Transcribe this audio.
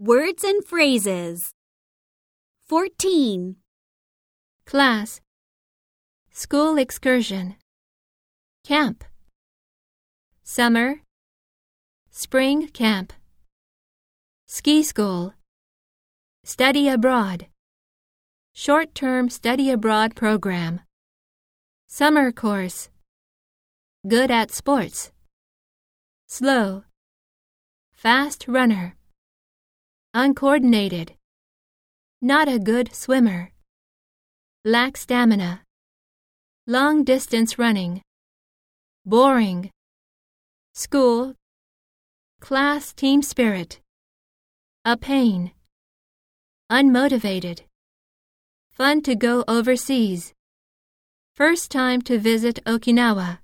Words and phrases. 14. Class. School excursion. Camp. Summer. Spring camp. Ski school. Study abroad. Short-term study abroad program. Summer course. Good at sports. Slow. Fast runner. Uncoordinated. Not a good swimmer. Lack stamina. Long distance running. Boring. School. Class team spirit. A pain. Unmotivated. Fun to go overseas. First time to visit Okinawa.